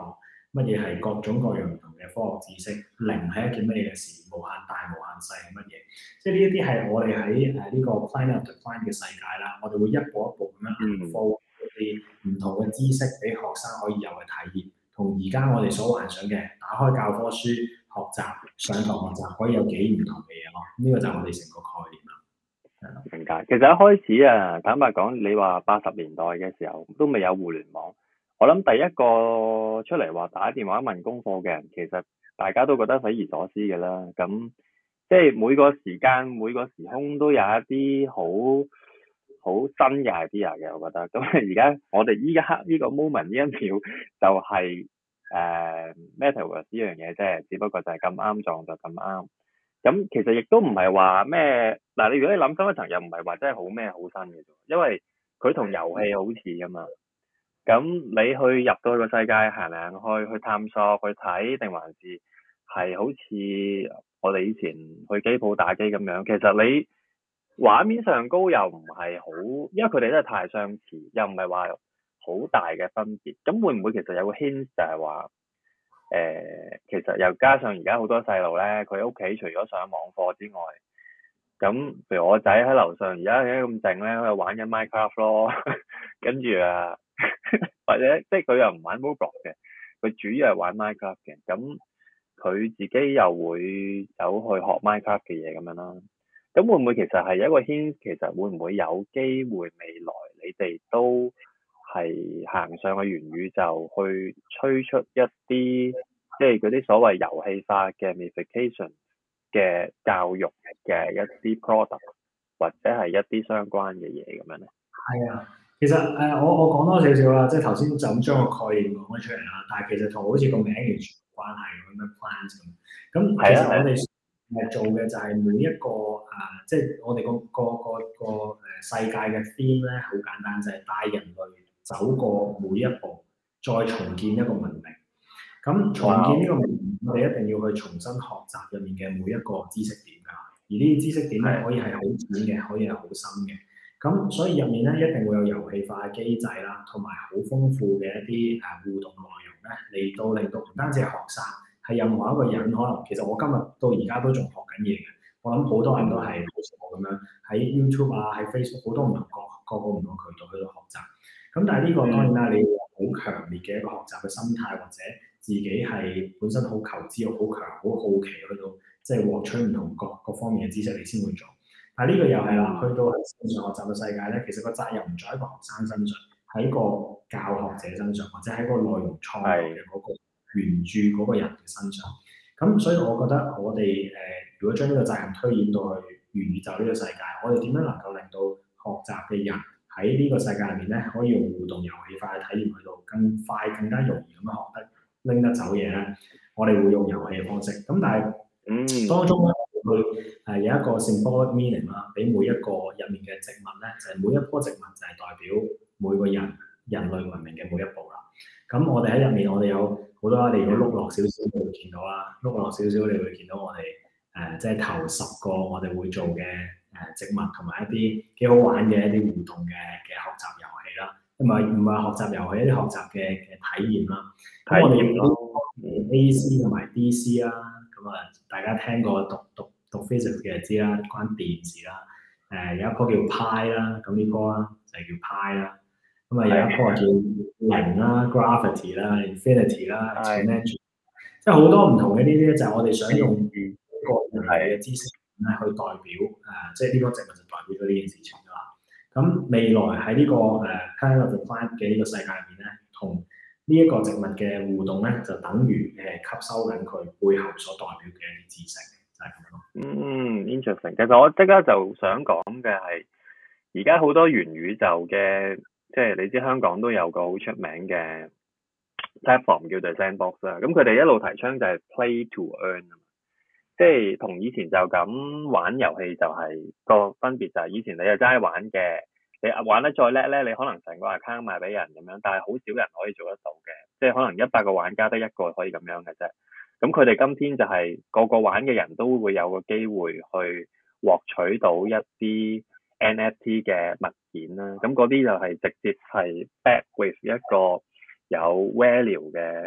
乜嘢係各種各樣唔同嘅科學知識，零係一件乜嘢嘅事，無限大無限細係乜嘢？即係呢一啲係我哋喺呢個 Planet of the Planet 嘅世界啦，我哋會一步一步咁樣放一啲唔同嘅知識俾學生可以有嘅體驗，同而家我哋所幻想嘅打開教科書學習上堂學習可以有幾唔同嘅嘢咯。呢個就係我哋成個概念啦。 明解。其實一開始啊，坦白講，你話80年代嘅時候都未有互聯網，我諗第一個出嚟話打電話問功課嘅人，其實大家都覺得匪夷所思嘅啦。咁即係每個時間每個時空都有一啲好新嘅 idea 嘅，我覺得。咁而家我哋依家呢個 moment 呢一秒就係Metaverse 呢樣嘢啫，只不過就係咁啱撞就咁啱。咁其實亦都唔係話咩嗱，你如果你諗深一層，又唔係話真係好咩好新嘅啫，因為佢同遊戲好似㗎嘛。咁你去入到去個世界行嚟行去探索去睇，定還是係好似我哋以前去機鋪打機咁樣？其實你畫面上高又唔係好，因為佢哋真係太相似，又唔係話好大嘅分別。咁會唔會其實有個 hint 就係話其實又加上而家好多細路咧，佢屋企除咗上網課之外，咁譬如我仔喺樓上而家咁靜咧，喺度玩緊 Minecraft 咯，跟住啊，或者即係佢又唔玩 Roblox 嘅，佢主要係玩 Minecraft 嘅，咁佢自己又會走去學 Minecraft 嘅嘢咁樣啦。咁會唔會其實係一個 hint？其實會唔會有機會未來你哋都係行上去元宇宙去推出一啲即係嗰啲所謂遊戲化嘅 gamification 嘅教育嘅一啲 product 或者係一啲相關嘅嘢咁樣咧？ 係啊，其實我講多少少啦，即係頭先就咁將個概念講咗出嚟啦，但係其實同好似個名完全冇關係咁樣 plans 咁。咁其實我哋做嘅就係每一個即係我哋個世界嘅 theme 咧，好簡單，就係帶人類走過每一步，再重建一個文明。咁重建呢個文明，我哋一定要去重新學習入面嘅每一個知識點㗎。而呢啲知識點咧，可以係好淺嘅，可以係好深嘅。咁所以入面咧一定會有遊戲化嘅機制啦，同埋好豐富嘅一啲互動內容咧，令到唔單止係學生，係任何一個人可能其實我今日到而家都仲學緊嘢嘅。我諗好多人都係好似我咁樣喺 YouTube 啊，喺 Facebook 好多唔同各個唔同渠道去到學習。咁但係呢個當然啦，你要有好強烈嘅一個學習嘅心態，或者自己係本身好求知欲好強、好好奇去到即係獲取唔同各方面嘅知識，你先會做。但係呢個又係啦，去到係線上學習嘅世界咧，其實個責任唔在一個學生身上，喺個教學者身上，或者喺個內容創作嘅嗰個原著嗰個人嘅身上。咁所以我覺得我哋如果將呢個責任推演到去元宇宙呢個世界，我哋點樣能夠令到學習嘅人喺呢個世界入面咧，可以用互動遊戲化嘅體驗去到更快、更加容易咁樣學得拎得走嘢咧？我哋會用遊戲嘅方式。咁但係當中咧，會有一個 symbolic meaning 啦，俾每一個入面嘅植物咧，就係每一棵植物就係代表每個人類文明嘅每一步啦。咁我哋喺入面，我哋有好多，你如果碌落少少，你會見到啦。碌落少少，你會見到我哋即係頭10個我哋會做嘅植物，同埋一啲幾好玩嘅一啲互動嘅學習遊戲啦。唔係學習遊戲，一啲學習嘅體驗啦。咁我哋亦都 AC 同埋 DC 啦。咁大家聽過讀 physics 嘅知啦，關電事啦。有一棵叫派啦，咁呢棵啦就係叫派啦。咁有一棵叫零啦、gravity 啦、infinity 啦、exponential，即係好多唔同嘅呢啲就係我哋想用個人嘅知識咧去代表即係呢棵植物就代表咗呢件事情啦。咁未來喺呢個Planet of the Planet 嘅呢個世界入面咧，同呢一個植物嘅互動咧，就等於吸收緊佢背後所代表嘅一啲知識，就係咁樣咯。 interesting。其實我即刻就想講嘅係，而家好多元宇宙嘅，即係你知香港都有個好出名嘅 platform 叫做 Sandbox 啦。咁佢哋一路提倡就係 play to earn，即係同以前就咁玩遊戲就係個分別就係以前你就齋玩嘅。你玩得再叻咧，你可能成個 account 賣俾人咁樣，但係好少人可以做得到嘅，即係可能100個玩家得1個可以咁樣嘅啫。咁佢哋今天就係個個玩嘅人都會有個機會去獲取到一啲 NFT 嘅物件啦。咁嗰啲就係直接係 back with 一個有 value 嘅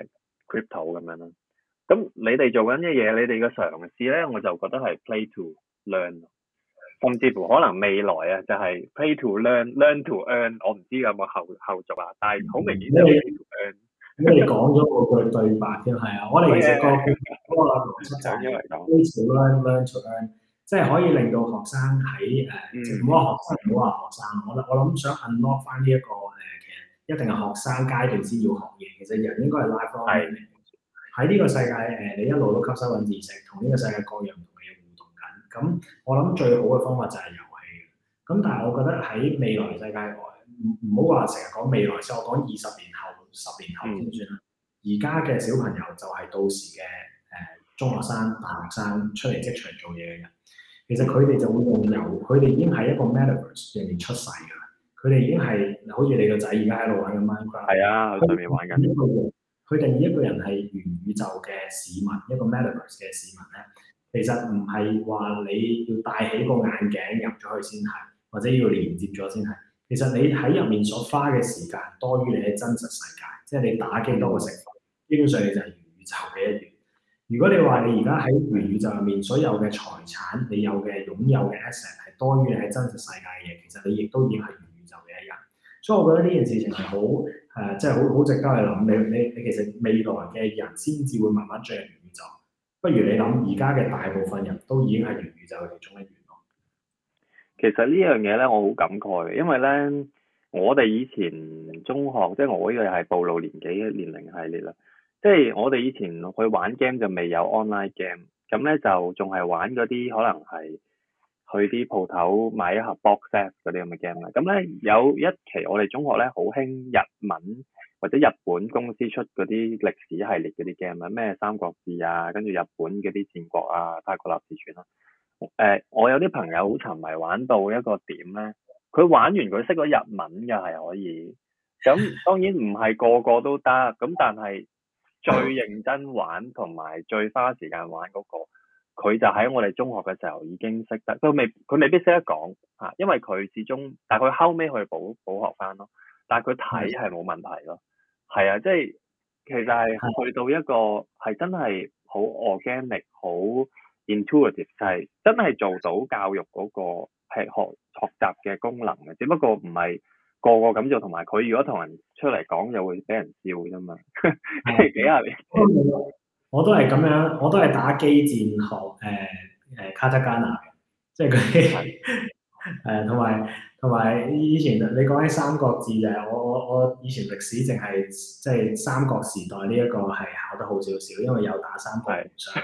crypto 咁樣啦。咁你哋做緊嘅嘢，你哋嘅嘗試咧，我就覺得係 play to learn，甚至乎可能未來啊就係 play to learn to earn，我唔知有冇後續啊，但係好明顯就係 play to earn。 你講咗嗰句對白添，係啊，我哋其實個邏輯就係 play to learn to earn，即係可以令到學生喺唔好話學生，唔好話學生，我諗想 unlock 翻呢一個其實一定係學生階段先要學嘢，其實人應該係 lifelong learning。喺呢個世界你一路都吸收緊知識，同呢個世界各樣唔同嘅嘢互動緊。咁我諗最好嘅方法就係遊戲。咁但係我覺得喺未來世界外，唔好話成日講未來，所以我講20年後、10年後先算啦。而家嘅小朋友就係到時嘅中學生、大學生出嚟職場做嘢嘅人。其實佢哋就會佢哋已經喺一個 metaverse 入面出世㗎啦。佢哋已經係好似你個仔而家喺度玩緊 Minecraft。係啊，喺上面玩緊。 佢定義一個人係元宇宙嘅市民，一個 metaverse 嘅市民咧，其實唔係話你要戴起個眼鏡入咗去先係，或者要連接咗先係。其實你喺入面所花嘅時間多於你喺真實世界，即係你打機多過食飯，基本上你就係元宇宙嘅一員。如果你話你而家喺元宇宙入面所有嘅財產，你有嘅擁有嘅 asset 係多於你喺真實世界嘅嘢，其實你亦都已經係元宇宙嘅一人。所以我覺得呢件事情係好即係好值得去諗。你其實未來嘅人先至會慢慢進入元宇宙。不如你諗，而家嘅大部分人都已經係元宇宙嘅其中一員咯。 其實呢樣嘢咧，我好感慨嘅，因為咧，我哋以前中學，即係我呢個係暴露年紀嘅年齡系列啦。即係我哋以前去玩 game 就未有 online game，咁咧就仲係玩嗰啲可能係去啲鋪頭買一盒 box set 嗰啲咁嘅 game 啦。咁咧有一期我哋中學咧好興日文或者日本公司出嗰啲歷史系列嗰啲 game 啊，咩三國志啊，跟住日本嗰啲戰國啊、太古立志傳啦。我有啲朋友好沉迷玩到一個點咧，佢玩完佢識咗日文嘅係可以。咁當然唔係個個都得，咁但係最認真玩同埋最花時間玩嗰個，佢就喺我哋中學嘅時候已經識得，佢未必識得講嚇，因為佢始終，但係佢後尾去補學翻咯。但係佢睇係冇問題咯。係啊，即係其實係去到一個係真係好 organic、好 intuitive，就係真係做到教育嗰個係學習嘅功能嘅，只不過唔係個個咁做，同埋佢如果同人出嚟講，就會俾人笑啫嘛。即係幾廿年。 我都係咁樣，我都係打機戰學卡塔加納嘅，即係嗰啲同埋以前你講起三國志就係我以前歷史淨係即係三國時代呢一個係考得好少少，因為有打三國無雙。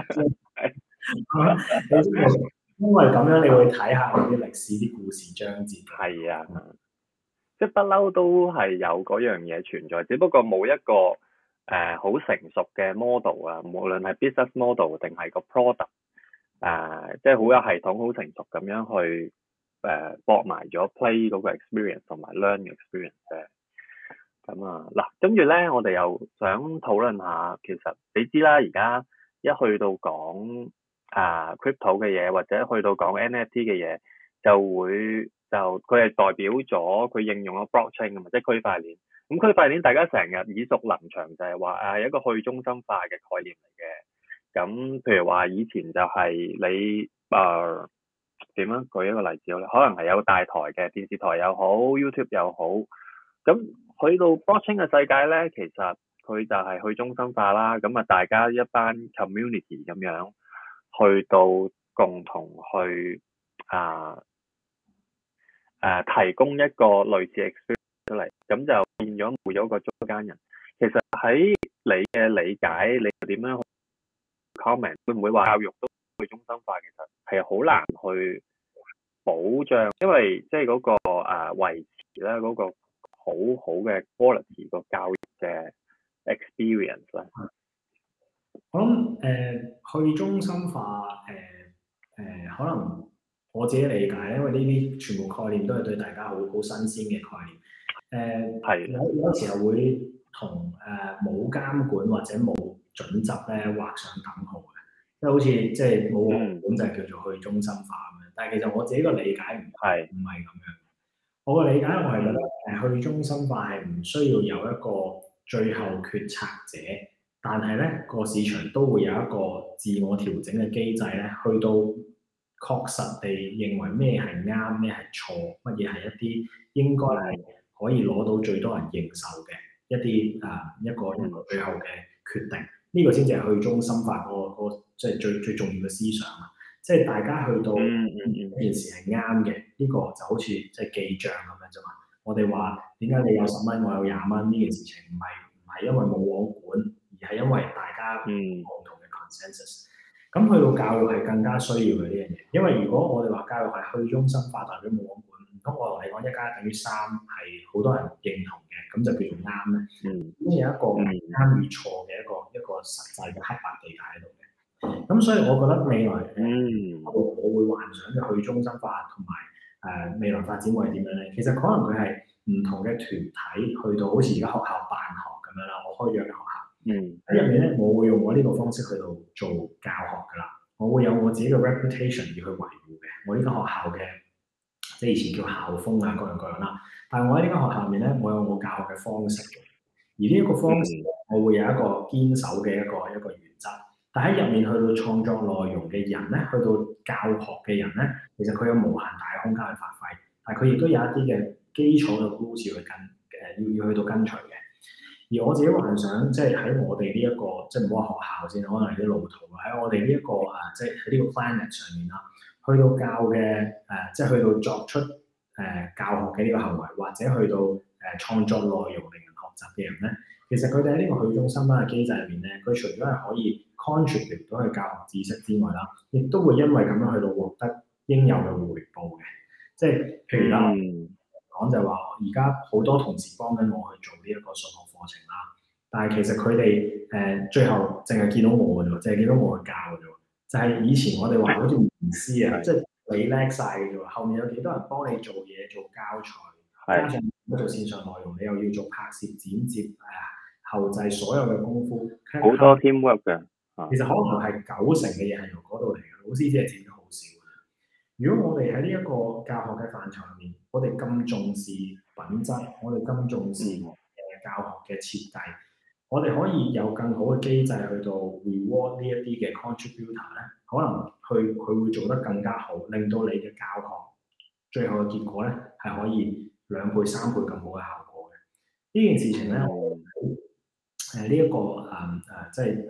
因為咁樣你會睇下嗰啲歷史啲故事章節。 係啊，即係不嬲都係有嗰樣嘢存在，只不過冇一個好成熟嘅 model 啊，無論係 business model 定係個 product 即係好有系統、好成熟咁樣去駁埋咗 play 嗰個 experience 同埋 learn experience 嘅。咁嗱，跟住咧，我哋又想討論下，其實你知啦，而家一去到講crypto 嘅嘢，或者去到講 NFT 嘅嘢，就佢係代表咗佢應用咗 blockchain 啊嘛，即係區塊鏈。咁區塊鏈大家成日耳熟能詳，就係話一個去中心化嘅概念嚟嘅。咁譬如話以前就係你點樣舉一個例子咧？可能係有大台嘅電視台又好 ，YouTube 又好。咁去到 blockchain 嘅世界咧，其實佢就係去中心化啦。咁大家一班 community 咁樣去到共同去提供一個類似 experience 出嚟，咁就變咗冇咗個中間人。其實喺你嘅理解，你點樣去 comment？ 會唔會話教育都去中心化？其實係好難去保障，因為即係嗰個維持咧嗰個好好嘅 quality 個教育嘅 experience 咧。 我諗去中心化可能我自己理解，因為呢啲全部概念都係對大家好新鮮嘅概念。有時候會同冇監管或者冇準則咧畫上等號嘅，即係好似即係冇監管就係叫做去中心化咁樣。但係其實我自己個理解唔係咁樣。我個理解我係覺得去中心化係唔需要有一個最後決策者但係咧個市場都會有一個自我調整嘅機制咧，去到確實地認為咩係啱，咩係錯，乜嘢係一啲應該係可以攞到最多人認受嘅一啲一個最後嘅決定。呢個先至係去中心化個即係最重要嘅思想啊！即係大家去到一件事係啱嘅，呢個就好似即係記帳咁樣啫嘛。我哋話點解你有10蚊，我有20蚊呢件事情唔係因為冇我管，而係因為大家共同嘅 consensus。咁去到教育係更加需要嘅呢樣嘢，因為如果我哋話教育係去中心化，代表冇我管，唔通我同你講1+1等於3係好多人認同嘅，咁就叫做啱咧？咁有一個啱與錯嘅一個實際嘅黑白地帶喺度嘅。咁所以我覺得未來我會幻想嘅去中心化同埋未來發展會係點樣咧？其實可能佢係唔同嘅團體去到好似而家學校辦學咁樣啦，我開咗嘅學校。喺入面咧，我會用我呢個方式去到做教學㗎啦。我會有我自己嘅 reputation 要去維護嘅。我呢間學校嘅即係以前叫校風啊，各樣各樣啦。但係我喺呢間學校入面咧，我有我教學嘅方式嘅。而呢一個方式，我會有一個堅守嘅一個原則。但喺入面去到創作內容嘅人咧，去到教學嘅人咧，其實佢有無限大空間去發揮。但係佢亦都有一啲嘅基礎嘅 rules 要去要去到跟隨嘅。而我自己幻想，即係喺我哋呢一個，即係唔好話學校先，可能係啲路途喺我哋呢一個即係喺呢個 planet 上面啦，去到教嘅即係去到作出教學嘅呢個行為，或者去到創作內容令人學習嘅人咧，其實佢哋喺呢個去中心化嘅機制入面咧，佢除咗係可以 contribute 到去教學知識之外啦，亦都會因為咁樣去到獲得應有嘅回報嘅，即係譬如啦。講就係話，而家好多同事幫緊我去做呢一個數學課程啦，但係其實佢哋最後淨係見到我嘅啫，淨係見到我去教嘅啫。就係以前我哋話好似名師啊，即係你叻晒嘅啫，後面有幾多人幫你做嘢、做教材，加上做線上內容，你又要做拍攝、剪接、後製所有嘅功夫， 好多 teamwork 嘅。 其實可能係90%嘅嘢係由嗰度嚟嘅，老師只係剪得好少。如果我哋喺呢一個教學嘅範疇入面，我哋咁重視品質，我哋咁重視教學嘅設計，我哋可以有更好嘅機制去到 reward 呢一啲嘅 contributor 咧，可能佢會做得更加好，令到你嘅教學最後嘅結果咧係可以2倍、3倍咁好嘅效果嘅。呢件事情咧，呢一個即係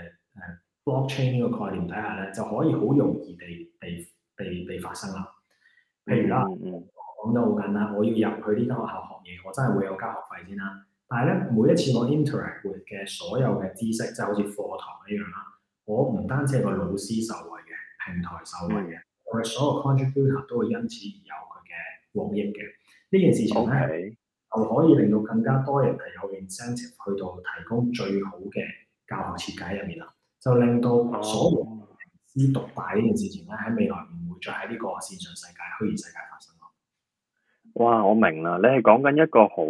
blockchain 呢個概念底下咧，就可以好容易地發生啦。譬如啦，講得好簡單，我要入去呢間學校學嘢，我真係會有交學費先啦。但係咧，每一次我 interact with 嘅所有嘅知識，即係好似課堂一樣啦，我唔單止係個老師受惠嘅，平台受惠嘅，我哋所有 contributor 都會因此而有佢嘅獲益嘅。呢件事情咧，就可以令到更加多人係有 incentive 去到提供最好嘅教學設計入面啦，就令到所有師獨大呢件事情咧，喺未來唔會再喺呢個線上世界、虛擬世界發生咯。 哇！我明啦，你係講緊一個好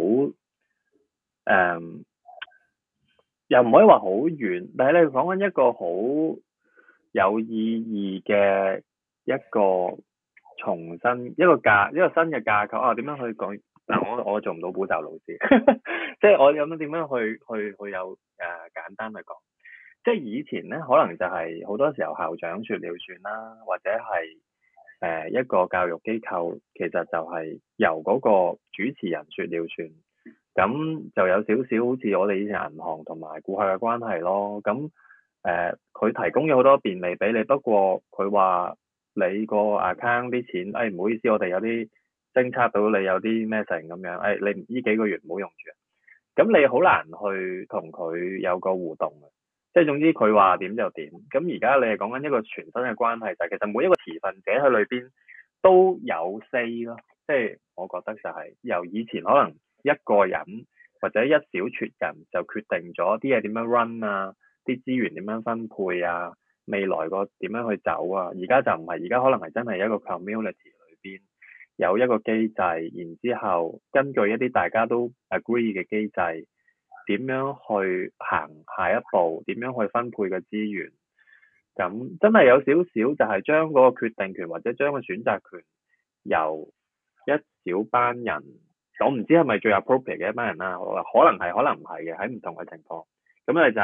又唔可以話好遠，但係你係講緊一個好有意義嘅一個重新一個新嘅架構啊！點樣去講？嗱，我做唔到補習老師，即係我有乜點樣去有簡單去講。即係以前咧，可能就係好多時候校長說了算啦，或者係一個教育機構，其實就係由嗰個主持人說了算，咁就有少少好似我哋以前銀行同埋顧客嘅關係咯。咁佢提供咗好多便利俾你，不過佢話你個 account 啲錢，唔好意思，我哋有啲偵測到你有啲咩成咁樣，你呢幾個月唔好用住，咁你好難去同佢有個互動嘅。即係總之佢話點就點，咁而家你係講緊一個全新嘅關係，就係其實每一個持份者喺裏邊都有 say 咯。即係我覺得就係由以前可能一個人或者一小撮人就決定咗啲嘢點樣 run 啊，啲資源點樣分配啊，未來個點樣去走啊。而家就唔係，而家可能係真係一個 community 裏邊有一個機制，然之後根據一啲大家都 agree 嘅機制，點樣去行下一步？點樣去分配嘅資源？咁真係有少少就係將嗰個決定權或者將個選擇權由一小班人，我唔知係咪最 appropriate 嘅一班人啦。可能係，可能唔係嘅，喺唔同嘅情況。咁咧就係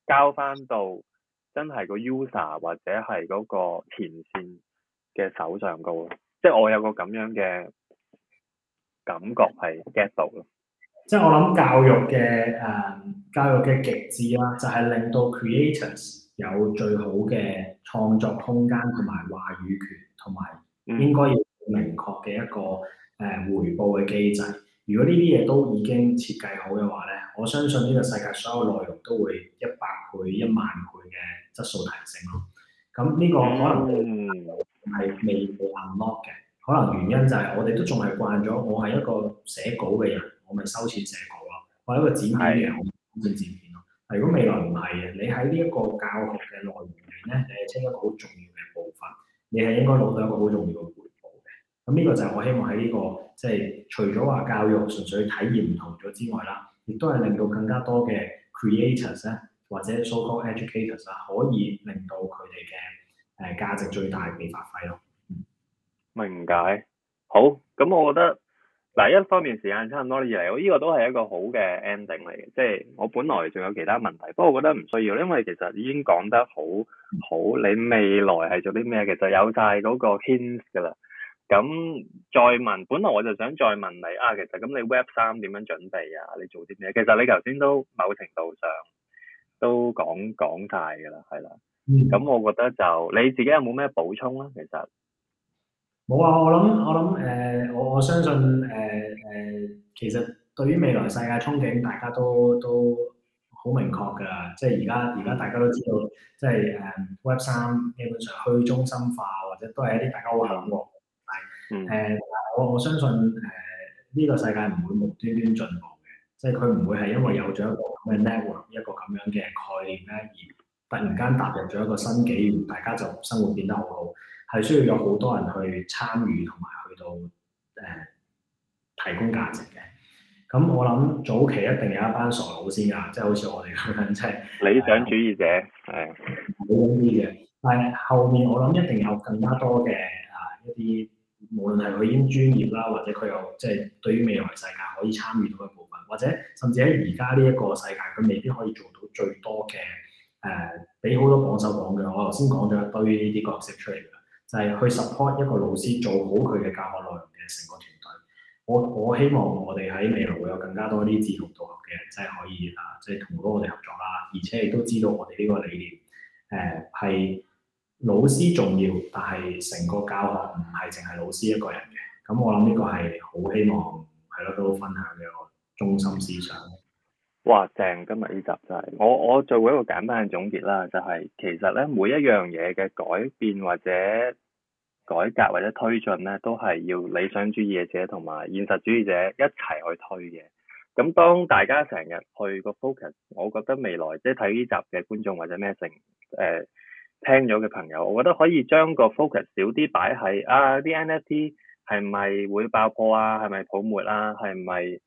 交翻到真係個 user 或者係嗰個前線嘅手上高咯。即係我有個咁樣嘅感覺係 get 到咯。 即係我諗教育嘅極致啦，就係令到 creators 有最好嘅創作空間同埋話語權，同埋應該要明確嘅一個回報嘅機制。如果呢啲嘢都已經設計好嘅話咧，我相信呢個世界所有內容都會100倍、10000倍嘅質素提升咯。咁呢個可能係未被 unlock 嘅，可能原因就係我哋都仲係慣咗，我係一個寫稿嘅人，我咪收錢寫稿咯；我係一個剪片嘅人，我咪剪片咯。但如果未來唔係嘅，你喺呢一個教學嘅內容裏面咧，你係清一個好重要嘅部分，你係應該攞到一個好重要嘅回報嘅。咁呢個就係我希望喺呢個即係除咗話教育純粹體驗唔同咗之外啦，亦都係令到更加多嘅 creators 咧，或者 so-called educators 啦，可以令到佢哋嘅價值最大被發揮咯。 明解。好，咁我覺得嗱，一方面時間差唔多嚟，我呢個都係一個好嘅 ending 嚟嘅。即係我本來仲有其他問題，不過我覺得唔需要，因為其實已經講得好。你未來係做啲咩？其實有晒嗰個 hints 㗎啦。咁再問，本來我就想再問你啊，其實咁你 Web3 點樣準備啊？你做啲咩？其實你頭先都某程度上都講晒㗎啦，係啦。咁我覺得就你自己有冇咩補充啊？其實冇啊，我相信其實對於未來世界憧憬，大家都好明確㗎。即係而家大家都知道，即係Web3基本上去中心化，或者都係一啲大家好向往。我相信呢個世界唔會無端端進步嘅，即係佢唔會係因為有咗一個咁嘅 network 一個咁樣嘅概念咧，而突然間踏入咗一個新紀元，大家就生活變得好好。係需要有好多人去參與同埋去到提供價值嘅。咁我諗早期一定有一班傻佬先㗎，即係好似我哋咁樣，即係理想主義者係好啲嘅。但係後面我諗一定有更加多嘅一啲，無論係佢已經專業啦，或者佢有即係對於未來世界可以參與到嘅部分，或者甚至喺而家呢一個世界，佢未必可以做到最多嘅俾好多榜首榜嘅。我頭先講咗一堆呢啲角色出嚟㗎。就係去 support 一個老師做好佢嘅教學內容嘅成個團隊。我希望我哋喺未來會有更加多啲志同道合嘅人，即係可以即係同到我哋合作啦。而且亦都知道我哋呢個理念係老師重要，但係成個教學唔係淨係老師一個人嘅。咁我諗呢個係好希望係咯，都分享嘅一個中心思想。 哇！正，今日呢集就係我做過一個簡單嘅總結啦，就係其實咧每一樣嘢嘅改變或者改革或者推進咧，都係要理想主義者同埋現實主義者一齊去推嘅。咁當大家成日去個 focus，我覺得未來即係睇呢集嘅觀眾或者咩聽咗嘅朋友，我覺得可以將個 focus 少啲擺喺啲 NFT 係咪會爆破啊？係咪泡沫啊？係咪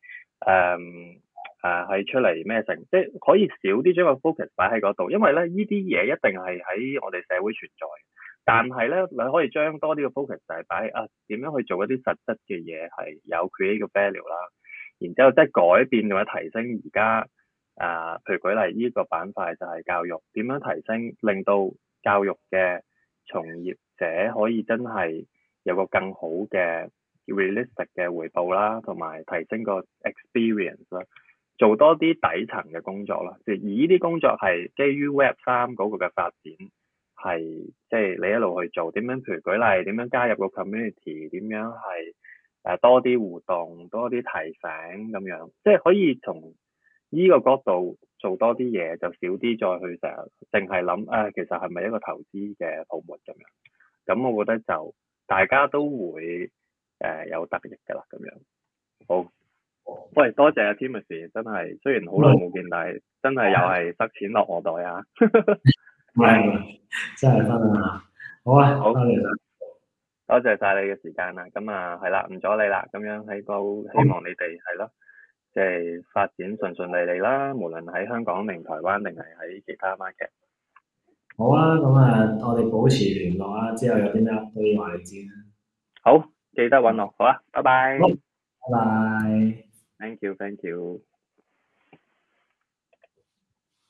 係出嚟咩成？即係可以少啲將個 focus 擺喺嗰度，因為咧呢啲嘢一定係喺我哋社會存在。但係咧，你可以將多啲嘅 focus 就係擺點樣去做一啲實質嘅嘢，係有 create 嘅 value 啦。然之後即係改變或者提升而家譬如舉例呢個板塊就係教育，點樣提升令到教育嘅從業者可以真係有個更好嘅 realistic 嘅回報啦，同埋提升個 experience 啦。做多啲底層嘅工作啦，而呢啲工作係基於 Web3 嗰個嘅發展，係即係你一路去做，點樣譬如舉例，點樣加入個 community，點樣係多啲互動，多啲提醒咁樣，即係可以從呢個角度做多啲嘢，就少啲再去成日淨係諗其實係咪一個投資嘅泡沫咁樣？咁我覺得就大家都會有得益㗎啦，咁樣好。喂，多謝阿 Timothy， 真係雖然好耐冇見，但係真係又係塞錢落我袋啊！ 係，真係分啊！好啊， 好， 多謝晒你嘅時間啦。咁係啦，唔阻你啦。咁樣喺度希望你哋係咯，即係發展順順利利啦。無論喺香港定台灣定係喺其他 market。 好啊，咁我哋保持聯絡啊，之後有啲咩可以話你知。 好，記得搵我。好啊，拜拜。 拜拜。 Thank you.